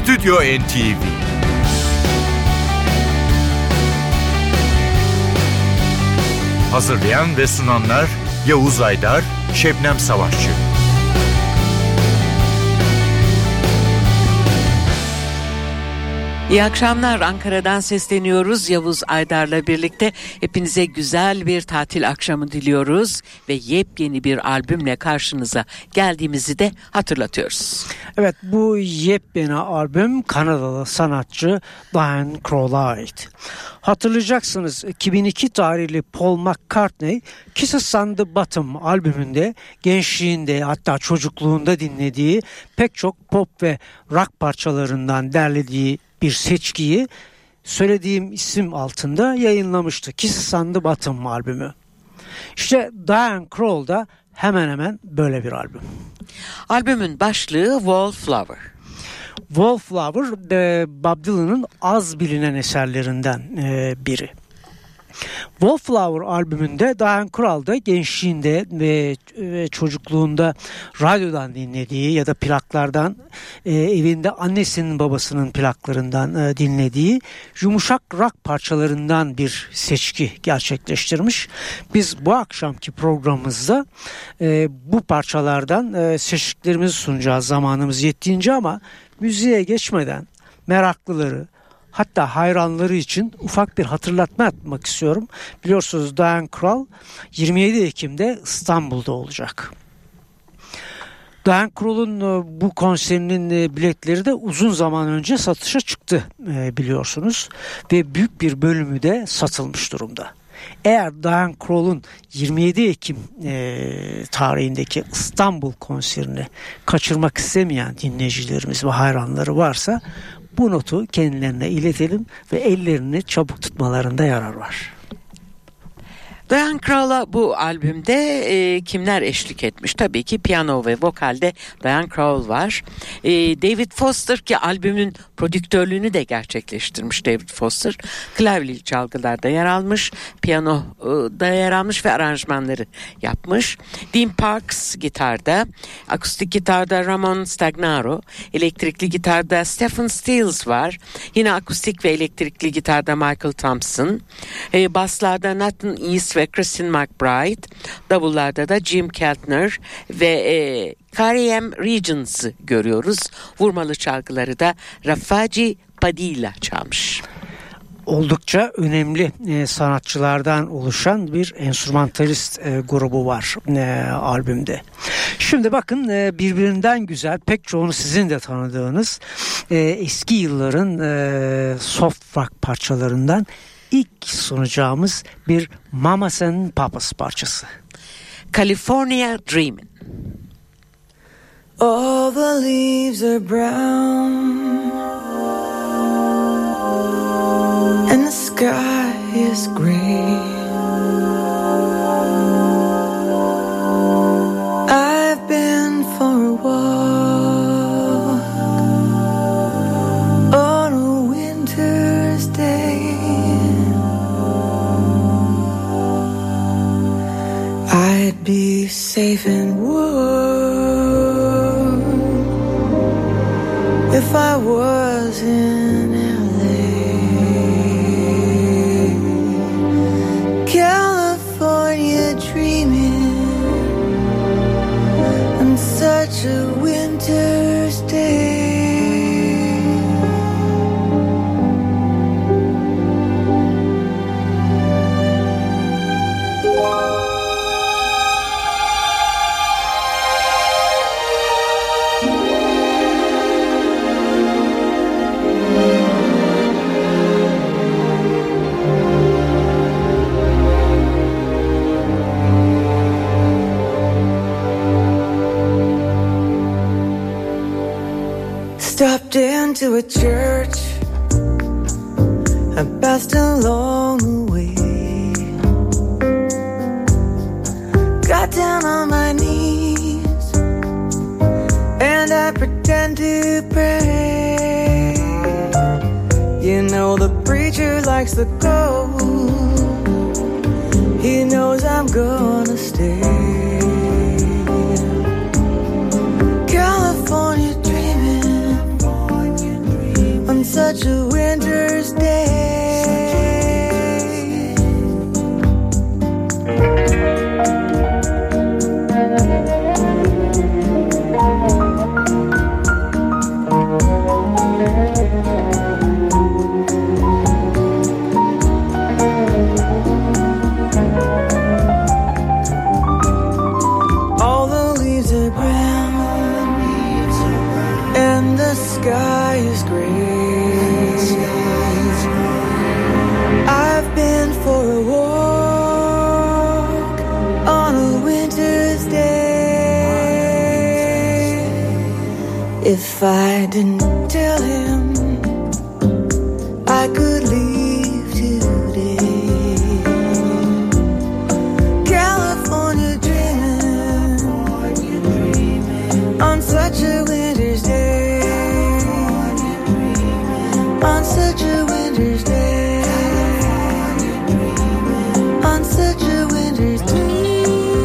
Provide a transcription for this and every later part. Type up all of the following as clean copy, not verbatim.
Stüdyo NTV. Hazırlayan ve sunanlar Yavuz Aydar, Şebnem Savaşçı. İyi akşamlar, Ankara'dan sesleniyoruz Yavuz Aydar'la birlikte. Hepinize güzel bir tatil akşamı diliyoruz ve yepyeni bir albümle karşınıza geldiğimizi de hatırlatıyoruz. Evet, bu yepyeni albüm Kanadalı sanatçı Diane Krall'a ait. Hatırlayacaksınız, 2002 tarihli Paul McCartney Kisses on the Bottom albümünde gençliğinde, hatta çocukluğunda dinlediği pek çok pop ve rock parçalarından derlediği bir seçkiyi söylediğim isim altında yayınlamıştı. Kisses on the Bottom albümü. İşte Diane Krall da hemen hemen böyle bir albüm. Albümün başlığı Wallflower. Wallflower, Bob Dylan'ın az bilinen eserlerinden biri. Wallflower albümünde Diane Krall da gençliğinde ve çocukluğunda radyodan dinlediği ya da plaklardan, evinde annesinin babasının plaklarından dinlediği yumuşak rock parçalarından bir seçki gerçekleştirmiş. Biz bu akşamki programımızda bu parçalardan seçkilerimizi sunacağız zamanımız yettiğince, ama müziğe geçmeden meraklıları, hatta hayranları için ufak bir hatırlatma yapmak istiyorum. Biliyorsunuz Diane Krall 27 Ekim'de İstanbul'da olacak. Diane Krall'un bu konserinin biletleri de uzun zaman önce satışa çıktı biliyorsunuz. Ve büyük bir bölümü de satılmış durumda. Eğer Diane Krall'un 27 Ekim tarihindeki İstanbul konserini kaçırmak istemeyen dinleyicilerimiz ve hayranları varsa bu notu kendilerine iletelim ve ellerini çabuk tutmalarında yarar var. Diane Krall'a bu albümde kimler eşlik etmiş? Tabii ki piyano ve vokalde Diane Krall var. David Foster, ki albümün prodüktörlüğünü de gerçekleştirmiş David Foster. Klavyeli çalgılarda yer almış, piyanoda yer almış ve aranjmanları yapmış. Dean Parks gitarda, akustik gitarda Ramon Stagnaro, elektrikli gitarda Stephen Stills var. Yine akustik ve elektrikli gitarda Michael Thompson. Baslarda Nathan East ve Christine McBride, davullarda da Jim Keltner ve Carrie M. Regents'ı görüyoruz. Vurmalı çalgıları da Rafaji Padilla çalmış. Oldukça önemli sanatçılardan oluşan bir enstrümantalist grubu var albümde. Şimdi bakın, birbirinden güzel, pek çoğunu sizin de tanıdığınız eski yılların soft rock parçalarından İlk sunacağımız bir Mamas and Papas parçası. California Dreamin'. All the leaves are brown and the sky is gray. I've been for a walk on a winter's day. I'd be safe and warm if I was in LA. California dreaming on such a winter's day. Stopped into a church, I passed along the way. Got down on my knees and I pretend to pray. You know the preacher likes the gold. He knows I'm gonna stay. California dreaming such a winter's day. Sky is gray. I've been for a walk on a winter's day. If I didn't tell him I could leave today, California dreaming on such a winter's day. On such a winter's day, on such a winter's day.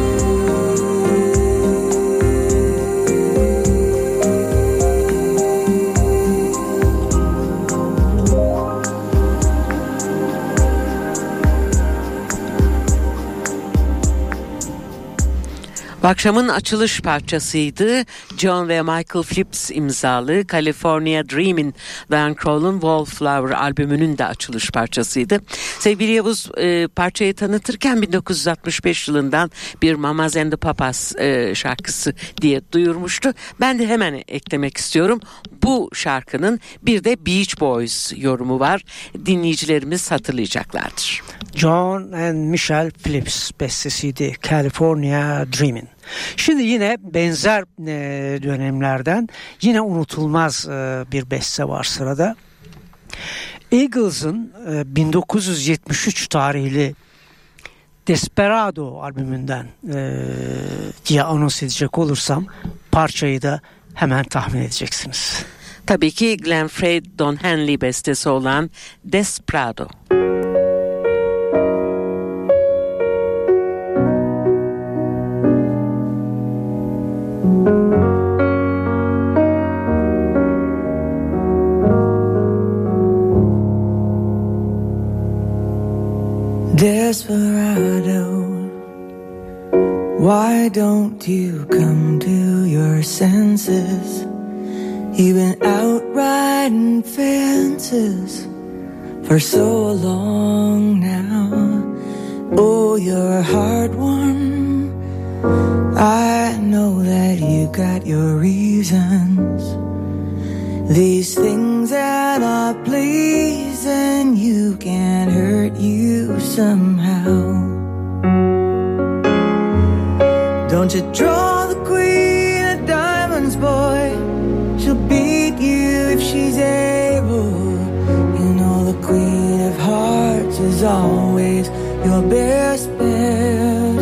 Bu akşamın açılış parçasıydı. John ve Michael Phillips imzalı California Dreamin', Diana Krall'un Wallflower albümünün de açılış parçasıydı. Sevgili Yavuz parçayı tanıtırken 1965 yılından bir Mamas and the Papas şarkısı diye duyurmuştu. Ben de hemen eklemek istiyorum. Bu şarkının bir de Beach Boys yorumu var. Dinleyicilerimiz hatırlayacaklardır. John and Michelle Phillips bestesiydi California Dreamin'. Şimdi yine benzer dönemlerden yine unutulmaz bir beste var sırada. Eagles'ın 1973 tarihli Desperado albümünden diye anons edecek olursam parçayı da hemen tahmin edeceksiniz. Tabii ki Glenn Frey, Don Henley bestesi olan Desperado. Desperado, why don't you come to your senses? You've been out riding fences for so long now. Oh, you're a hard one. I know that you got your reasons. These things that are pleasing you can hurt you somehow. Don't you draw the queen of diamonds, boy. She'll beat you if she's able. You know the queen of hearts is always your best bet.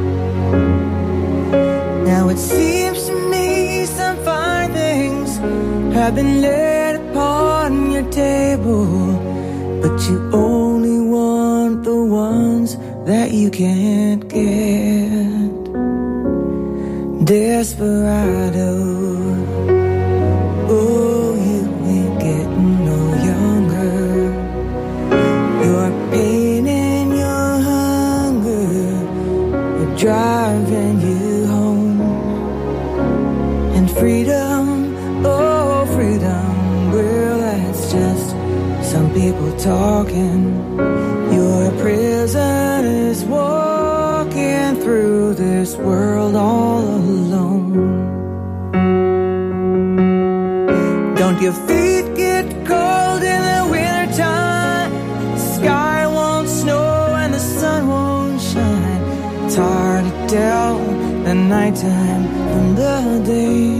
Now it seems to me some fine things have been laid upon your table, but you only want the ones that you can't get. Desperado, oh, you ain't getting no younger. Your pain and your hunger are driving you home. And freedom, oh freedom, well that's just some people talking. Your prison is walking through this world all alone. Don't your feet get cold in the wintertime? The sky won't snow and the sun won't shine. It's hard to tell the nighttime from the day.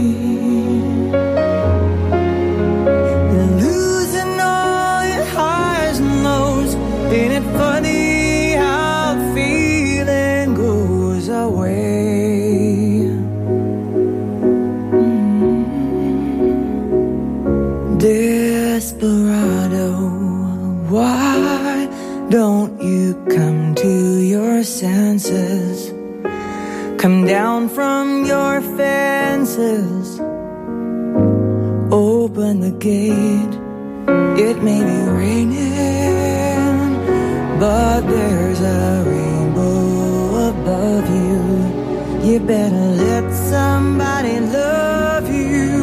You're losing all your highs and lows. Ain't it funny how the feeling goes away? Desperado, why don't you come to your senses? Come down from your fences. Open the gate It may be raining, but there's a rainbow above you. You better let somebody love you.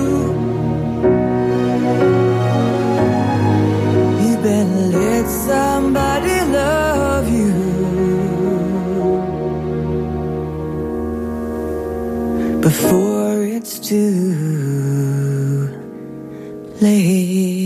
You better let somebody love you before it's too late.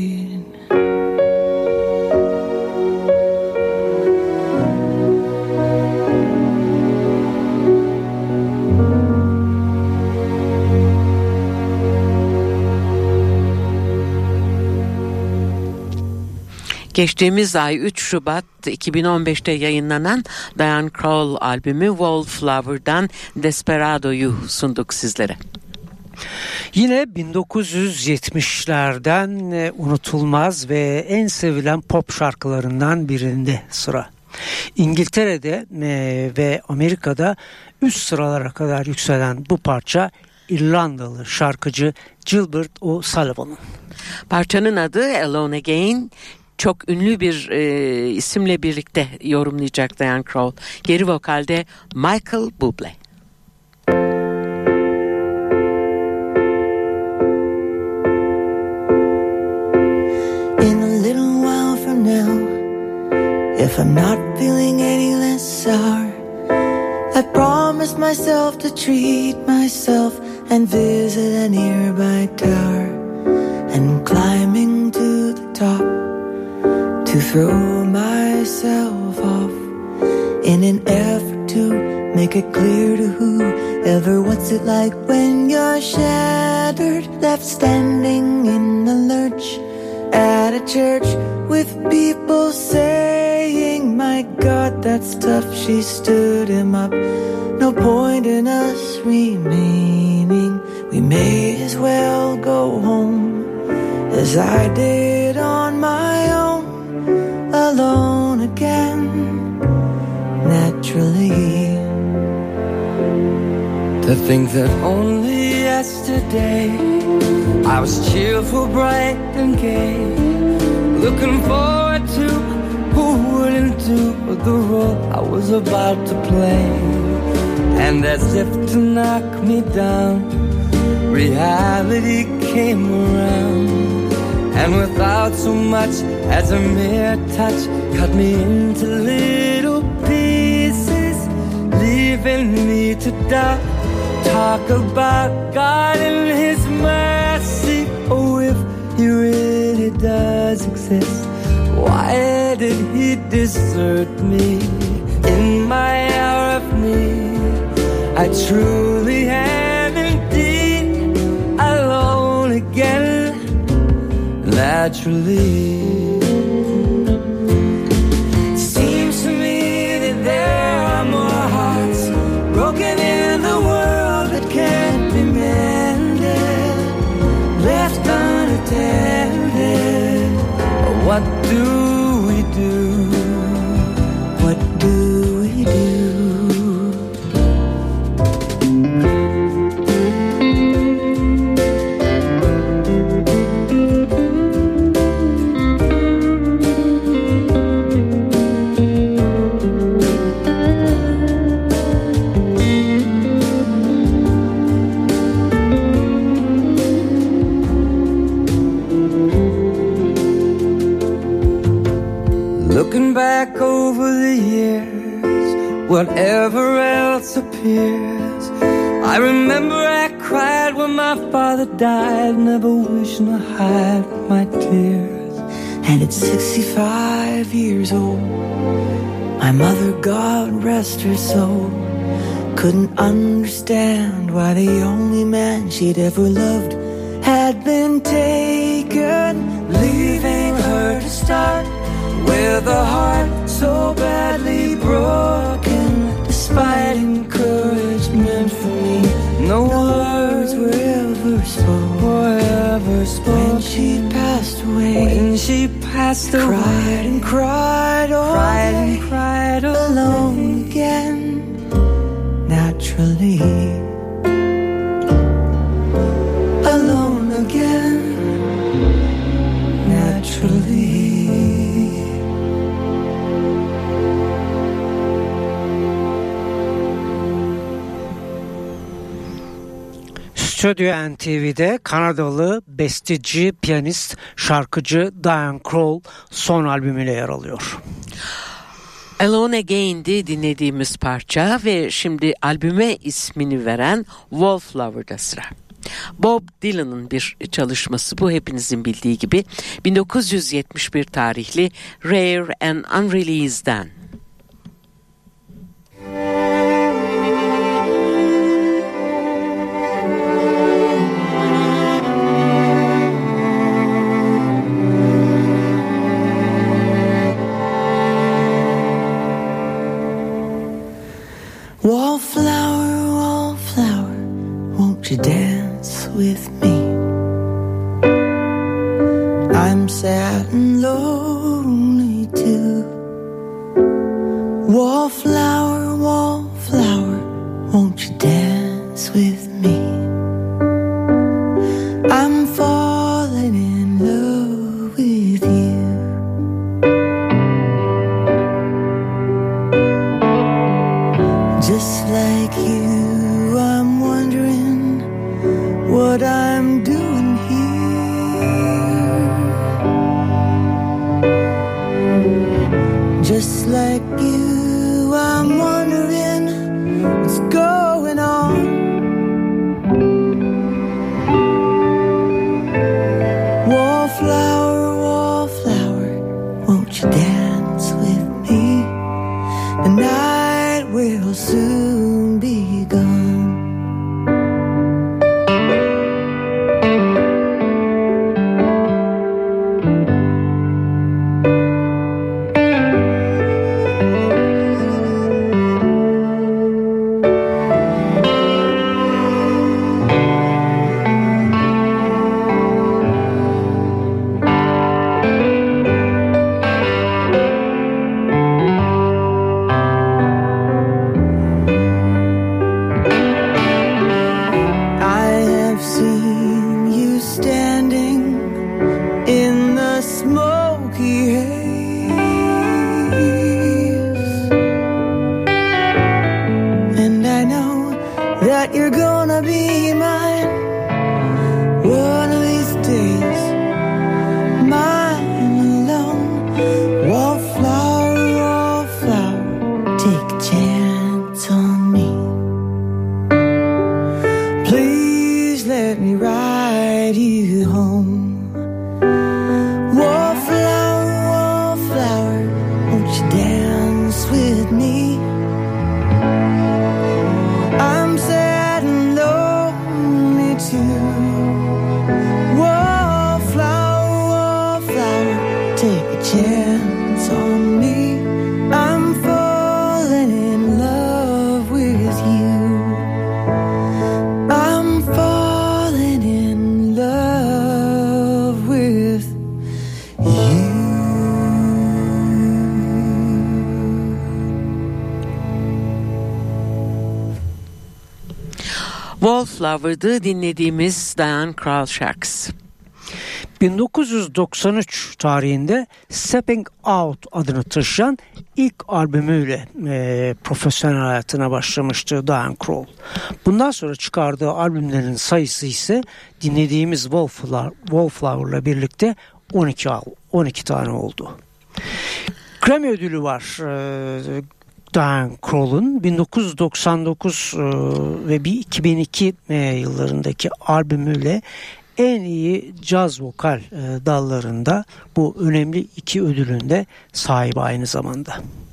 Geçtiğimiz ay 3 Şubat 2015'te yayınlanan Diane Krall albümü Wallflower'dan Desperado'yu sunduk sizlere. Yine 1970'lerden unutulmaz ve en sevilen pop şarkılarından birinde sıra. İngiltere'de ve Amerika'da üst sıralara kadar yükselen bu parça İrlandalı şarkıcı Gilbert O'Sullivan'ın. Parçanın adı Alone Again. Çok ünlü bir isimle birlikte yorumlayacak Diane Krall. Geri vokalde Michael Bublé. In a little while from now, if I'm not feeling any less sour, I promised myself to treat myself and visit a nearby tower, and climbing to the top to throw myself off in an effort to make it clear to whoever what's it like when you're shattered, left standing in the lurch at a church with people saying, my God, that's tough. She stood him up. No point in us remaining. We may as well go home as I did on my own, alone again, naturally. To think that only yesterday I was cheerful, bright and gay, looking forward to who wouldn't do the role I was about to play. And as if to knock me down, reality came around, and without so much as a mere touch, cut me into little pieces, leaving me to doubt. Talk about God and His mercy. Oh, if He really does exist, why did He desert me in my hour of need? I truly am indeed alone again, naturally. Seems to me that there are more hearts broken in the world that can't be mended, left unattended. What do we do? What do we do? Looking back over the years, whatever else appears, I remember I cried when my father died, never wishing to hide my tears. And at 65 years old, my mother, God rest her soul, couldn't understand why the only man she'd ever loved had been taken, leaving her to start with a heart so badly broken. Despite encouragement from me, no words were ever spoken. When she passed away, cried and cried all day, cried alone again, naturally. Alone again, naturally. Stüdyo NTV'de Kanadalı besteci, piyanist, şarkıcı Diana Krall son albümüyle yer alıyor. Alone Again'di dinlediğimiz parça ve şimdi albüme ismini veren Wallflower'da sıra. Bob Dylan'ın bir çalışması bu, hepinizin bildiği gibi 1971 tarihli Rare and Unreleased'den. Wallflower, wallflower, won't you dance with me? I'm sad and lonely too. Wallflower, wallflower, won't you dance with me? I'm falling in love with you. Just like you, I'm wondering what I'm doing here. Just like you, I'm wondering what's going on. Wallflower, wallflower, won't you dance with me? The night will soon be gone. That you're gonna be mine one of these days, mine alone. Wallflower, wallflower, take a chance on me. Please let me ride you home. Wallflower, wallflower, won't you dance with me? I'm sad and lonely too. Wallflower, wallflower, take a chance on me. I'm falling in love with you. I'm falling in love with you. Wallflower'dı dinlediğimiz Diana Krall şarkısı. 1993 tarihinde Stepping Out adını taşıyan ilk albümüyle profesyonel hayatına başlamıştı Diana Krall. Bundan sonra çıkardığı albümlerin sayısı ise dinlediğimiz Wallflower'la birlikte 12 tane oldu. Grammy ödülü var Diana Krall'ın 1999 ve 2002 yıllarındaki albümüyle en iyi caz vokal dallarında bu önemli iki ödülün de sahibi aynı zamanda.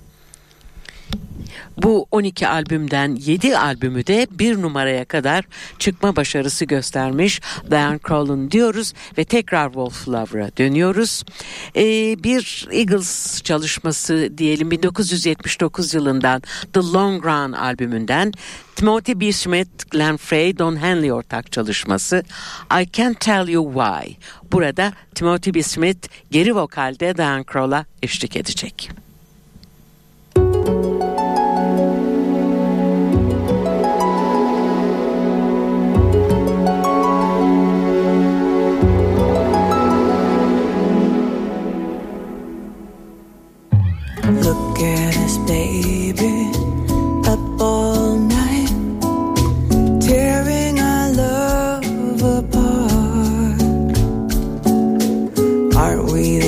Bu 12 albümden 7 albümü de 1 numaraya kadar çıkma başarısı göstermiş Diana Krall'ın diyoruz ve tekrar Wallflower'a dönüyoruz. Bir Eagles çalışması diyelim 1979 yılından The Long Run albümünden Timothy B. Schmit, Glenn Frey, Don Henley ortak çalışması I Can't Tell You Why. Burada Timothy B. Schmit geri vokalde Diana Krall'a eşlik edecek. Look at us, baby, up all night, tearing our love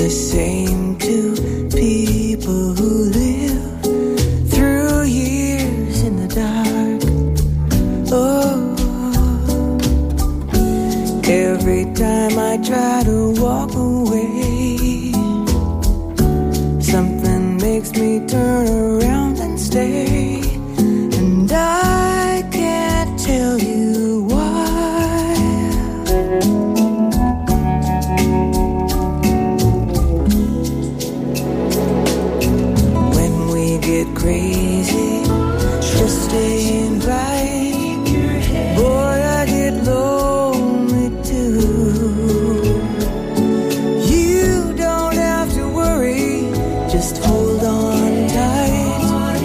the same two people who live through years in the dark. Oh, every time I try to walk away, something makes me turn around and stay, and I can't tell you why. When we get crazy, just staying right, boy, I get lonely too. You don't have to worry, just hold on tight,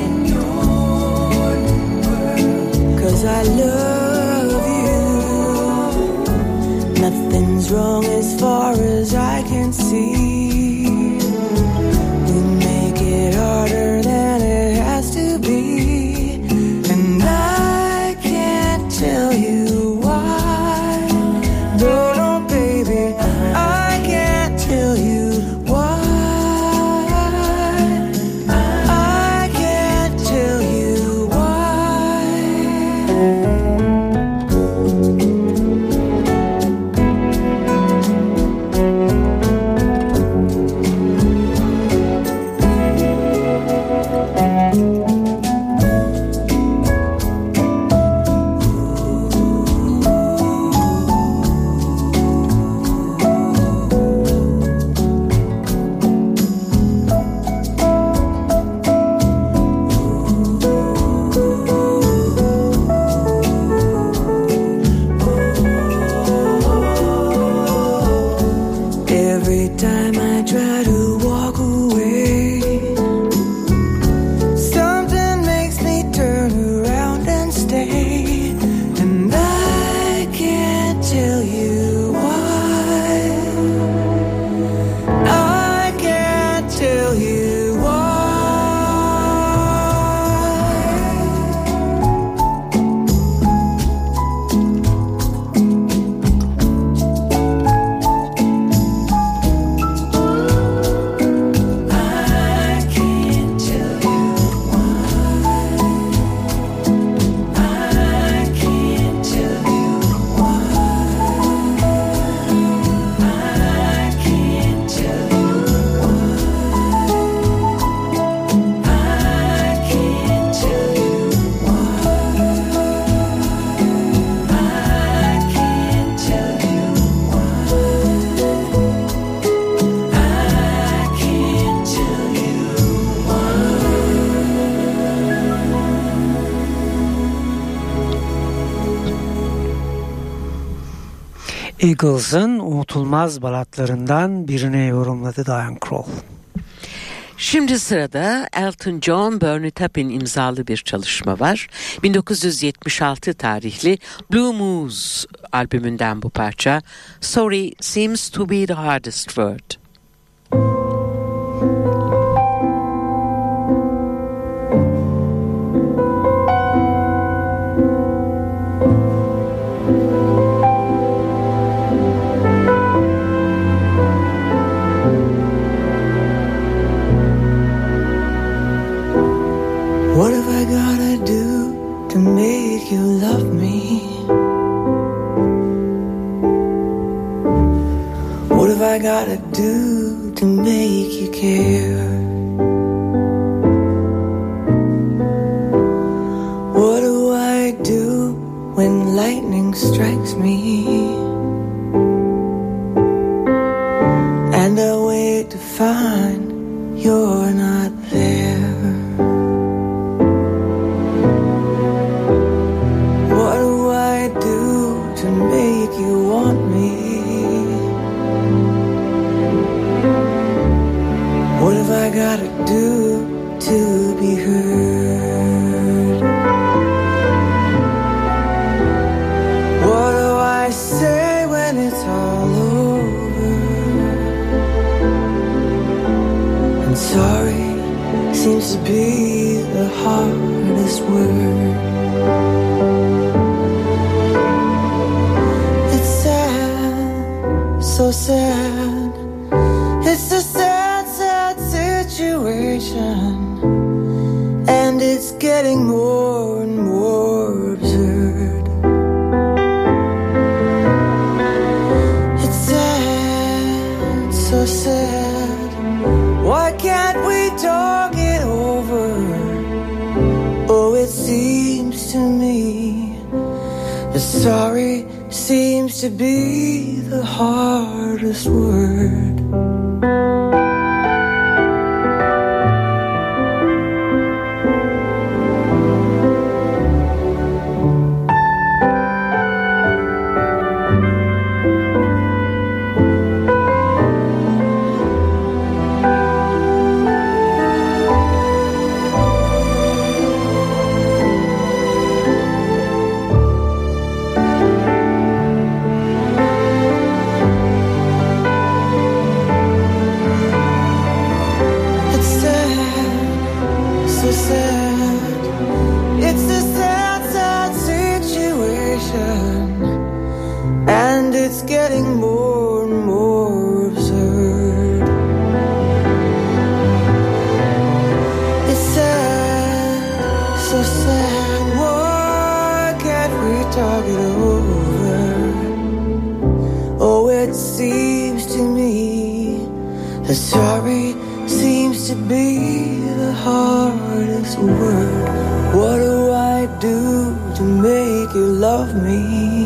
'cause I love you. Nothing's wrong as far as I can see. We make it harder than it has to be, and I can't tell you why. No, no, baby, I can't tell you why. I can't tell you why. Every time I try to walk away, something makes me turn around and stay, and I can't tell you why. I can't tell you why. I can't tell you why. I can't tell you why. I can't tell you why. I can't tell you why. I can't tell you why. I can't tell Eagles'ın unutulmaz balatlarından birine yorumladı Diane Krall. Şimdi sırada Elton John, Bernie Taupin imzalı bir çalışma var. 1976 tarihli Blue Moose albümünden bu parça. Sorry seems to be the hardest word. What have I gotta do to make you love me? What have I gotta do to make you care? What do I do when lightning strikes me? And I wait to find you're not there. What do I do to make you want me? What have I gotta do to be heard? What do I say when it's all over? And sorry seems to be the hardest word. It's sad, so sad. It's the so sad. Why can't we talk it over? Oh, it seems to me that sorry seems to be the hardest word. And it's getting more and more absurd. It's sad, so sad. Why can't we talk it over? Oh, it seems to me that sorry seems to be the hardest word. What do I do to make you love me?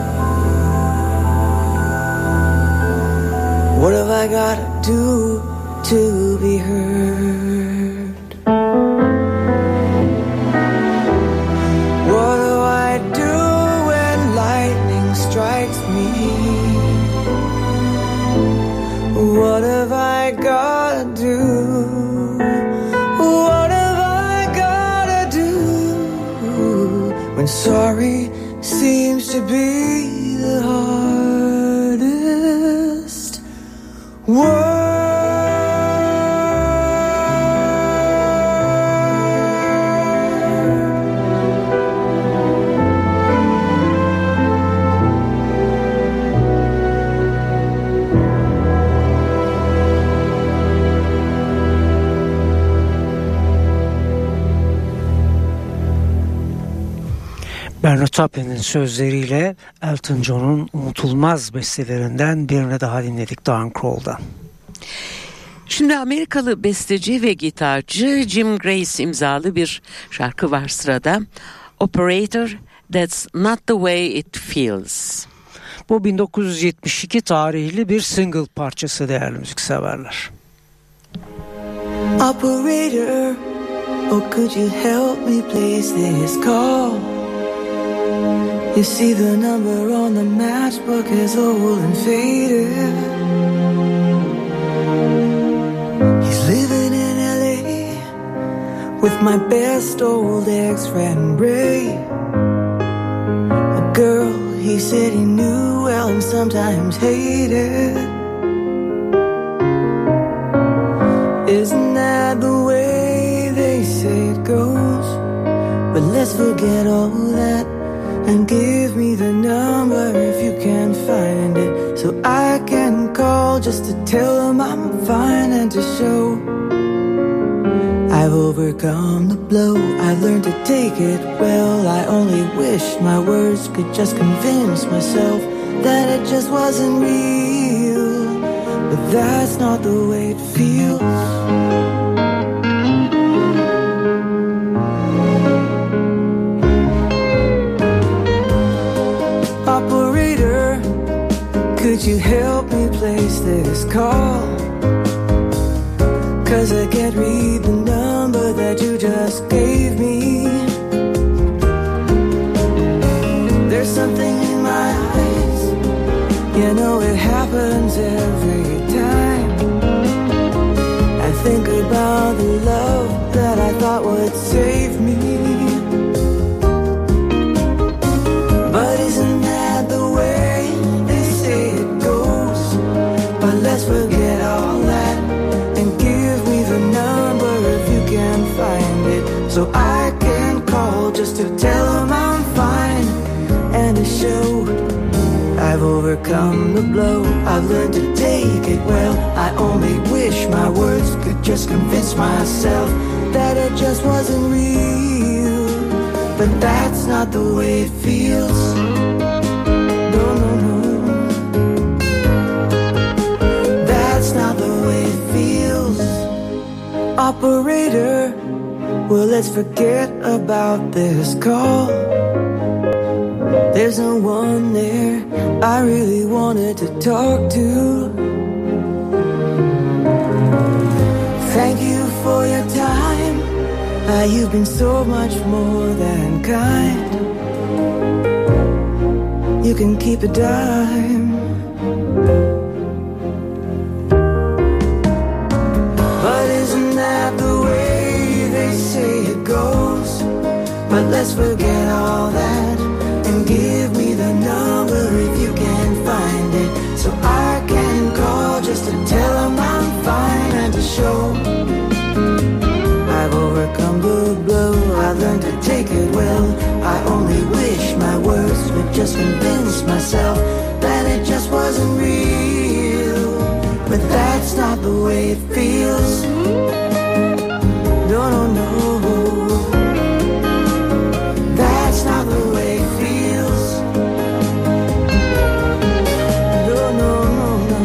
What have I gotta do to be heard? What do I do when lightning strikes me? What have I gotta do? What have I gotta do when sorry seems to be the hardest word? Bernard Taplin'in sözleriyle Elton John'un unutulmaz bestelerinden birini daha dinledik Diane Krall'dan. Şimdi Amerikalı besteci ve gitarcı Jim Grace imzalı bir şarkı var sırada. Operator, That's Not The Way It Feels. Bu 1972 tarihli bir single parçası değerli müzikseverler. Operator, oh could you help me place this call? You see the number on the matchbook is old and faded. He's living in LA with my best old ex-friend Ray. A girl he said he knew well and sometimes hated. Isn't that the way they say it goes? But let's forget all that and give me the number if you can find it, so I can call just to tell them I'm fine and to show I've overcome the blow. I've learned to take it well. I only wish my words could just convince myself that it just wasn't real, but that's not the way it feels. Operator, could you help me place this call? 'Cause I can't read the number that you just gave me. There's something in my eyes, you know it happens every time. I think about the love that I thought would save me. But isn't that the way they say it goes? But let's forget all that and give me the number if you can find it, so I can call just to tell them I'm fine and to show I've overcome the blow. I've learned to take it well. I only wish my words could just convince myself that it just wasn't real, but that's not the way it feels. No, no, no, that's not Operator, well, let's forget about this call. There's no one there I really wanted to talk to. Thank you for your time. You've been so much more than kind. You can keep a dime. But isn't that the way they say it goes? But let's forget all that and give me the number if you can find it, so I can call just to tell them I'm fine and to show I've overcome the blow. I learned to take it well. I only wish my words would just convince myself that it just wasn't real. But that's not the way it feels. No, no, no. That's not the way it feels. No, no, no, no.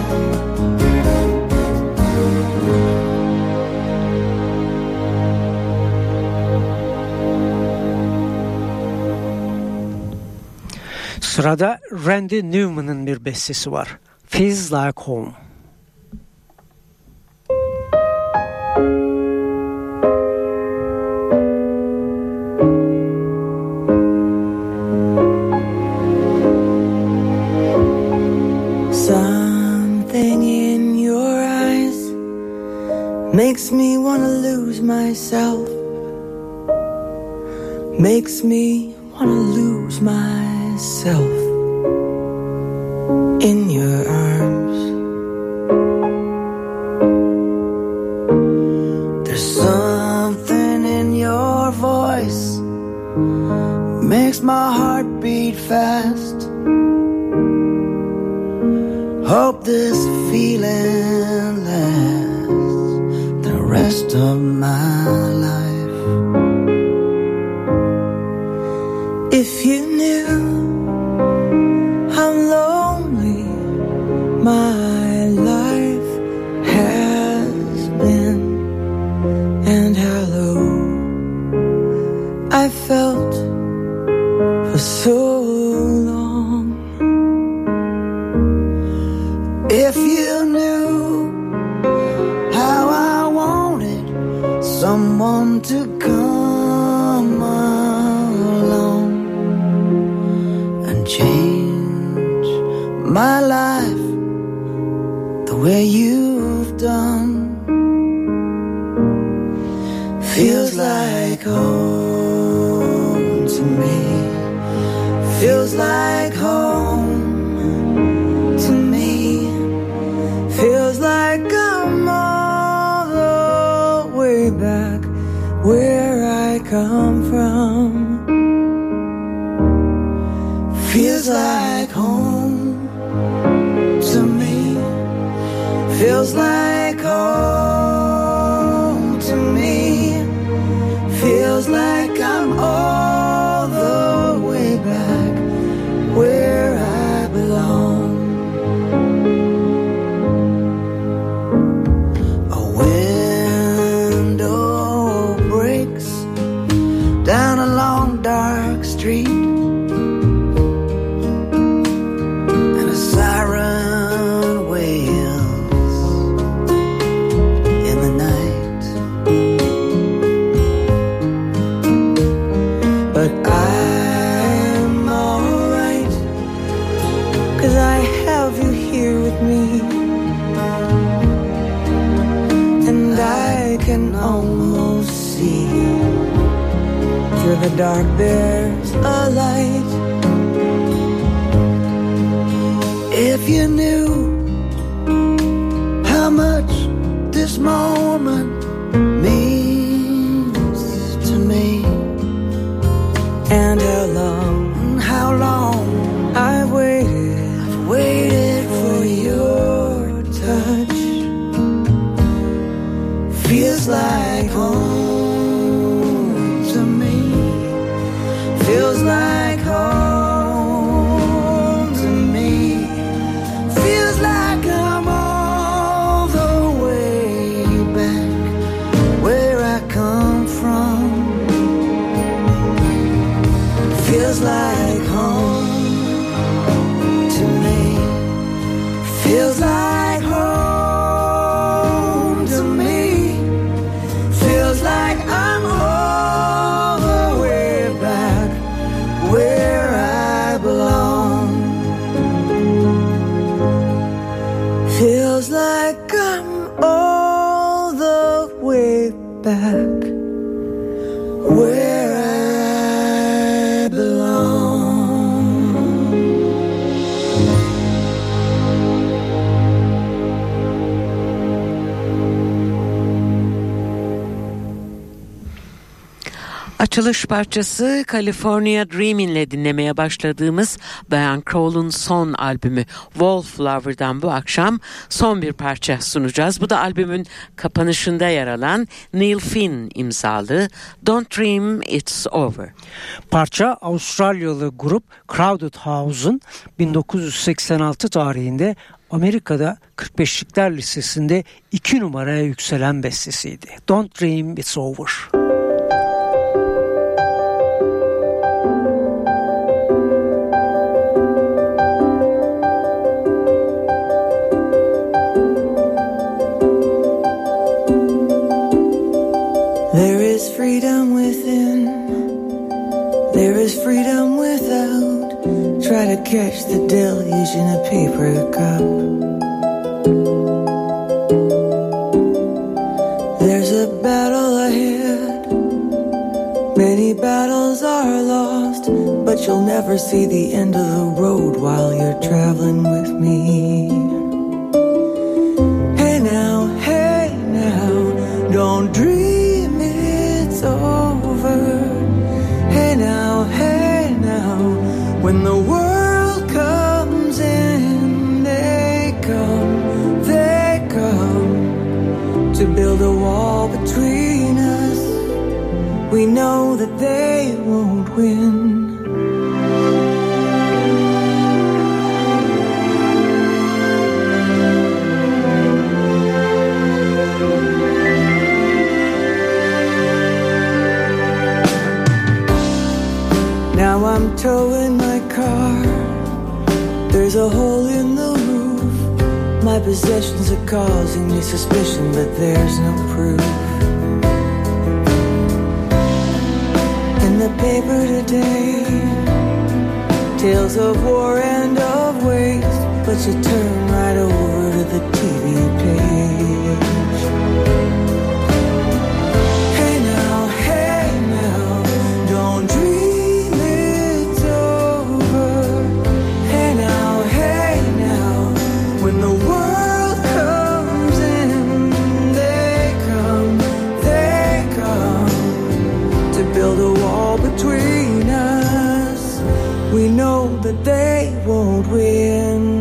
Sırada Randy Newman'ın bir bestesi var. Feels Like Home. Something in your eyes makes me wanna lose myself. Makes me wanna lose myself in your arms. There's something in your voice makes my heart beat fast. Hope this feeling lasts the rest of my life. If you knew how lonely my life has been and how low I felt for so long. If you knew how I wanted someone to come along and change my life the way you've done. Feels like home to me. Feels like home to me. Feels like I'm all the way back where I come from. Feels like home to me. Feels like home to me. Feels like I'm all the way back where I belong. A window breaks down a long dark street, and a siren wails in the night. But I'm alright, 'cause I have you here with me, and I can almost see through the dark there's a light. If you knew how much this moment means to me, and how long I've waited for your touch. Feels like home to me. Feels like home to me. Feels like I'm all the way back Feels like I'm all the way back where I belong. Açılış parçası California Dreamin'le dinlemeye başladığımız Diane Krall'un son albümü Wallflower'dan bu akşam son bir parça sunacağız. Bu da albümün kapanışında yer alan Neil Finn imzalı Don't Dream It's Over. Parça Avustralyalı grup Crowded House'un 1986 tarihinde Amerika'da 45'likler listesinde 2 numaraya yükselen bestesiydi. Don't Dream It's Over. There is freedom within, there is freedom without. Try to catch the deluge in a paper cup. There's a battle ahead, many battles are lost, but you'll never see the end of the road while you're traveling with me. Hey now, don't dream it's over. Hey now, when the world comes in, they come to build a wall between us. We know that they won't win. Now I'm towing my car. There's a hole in the roof. My possessions are causing me suspicion, but there's no proof. In the paper today, tales of war and of waste, but you turn right over to the TV page. Hey now, don't dream it's over. Hey now, when the world comes in, they come to build a wall between us. We know that they won't win.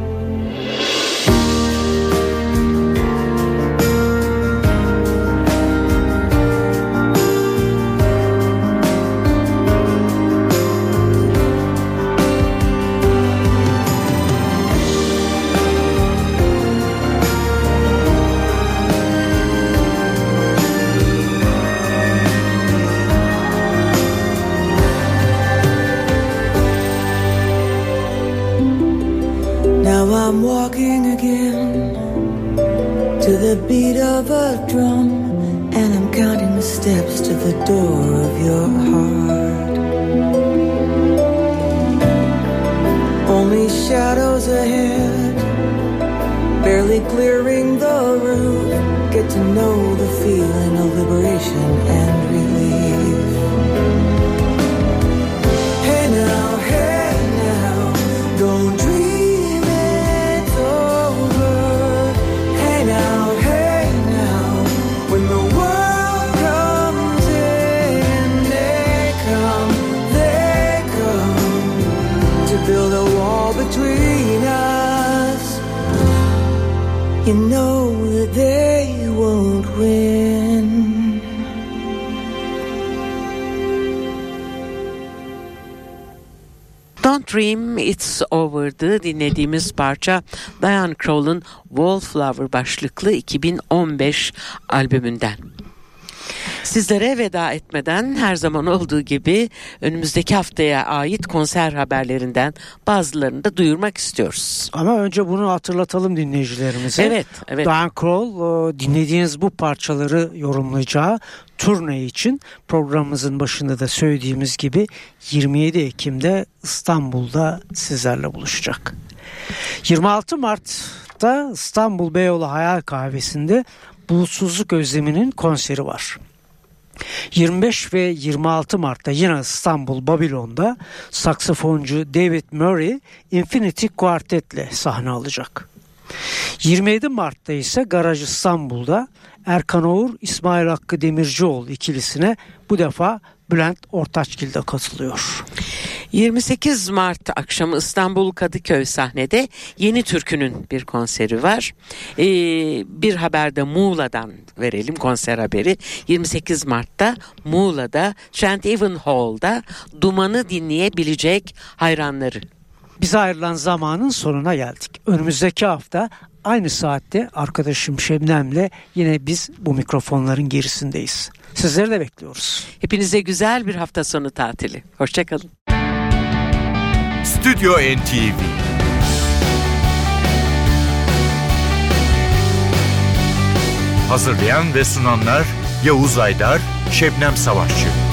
Now I'm walking again to the beat of a drum, and I'm counting the steps to the door of your heart. Only shadows ahead, barely clearing the roof. Get to know the feeling of liberation and relief. Hey now, don't dream it's over. Hey now, when the world comes in, they come to build a wall between us. You know that they won't win. Don't Dream It's Over'dı dinlediğimiz parça Diane Krall'ın Wallflower başlıklı 2015 albümünden. Sizlere veda etmeden her zaman olduğu gibi önümüzdeki haftaya ait konser haberlerinden bazılarını da duyurmak istiyoruz. Ama önce bunu hatırlatalım dinleyicilerimize. Evet. Diane Krall dinlediğiniz bu parçaları yorumlayacağı turne için programımızın başında da söylediğimiz gibi 27 Ekim'de İstanbul'da sizlerle buluşacak. 26 Mart'ta Mart'ta İstanbul Beyoğlu Hayal Kahvesi'nde Bulutsuzluk Özlemi'nin konseri var. 25 ve 26 Mart'ta yine İstanbul Babilon'da saksafoncu David Murray Infinity Quartet'le sahne alacak. 27 Mart'ta ise Garaj İstanbul'da Erkan Oğur, İsmail Hakkı Demircioğlu ikilisine bu defa Bülent Ortaçgil de katılıyor. 28 Mart akşamı İstanbul Kadıköy sahnede Yeni Türkü'nün bir konseri var. Bir haber de Muğla'dan verelim, konser haberi. 28 Mart'ta Muğla'da St. Even Hall'da Duman'ı dinleyebilecek hayranları. Bize ayrılan zamanın sonuna geldik. Önümüzdeki hafta aynı saatte arkadaşım Şebnem'le yine biz bu mikrofonların gerisindeyiz. Sizleri de bekliyoruz. Hepinize güzel bir hafta sonu tatili. Hoşçakalın. Stüdyo NTV Hazırlayan ve sunanlar Yavuz Aydar, Şebnem Savaşçı.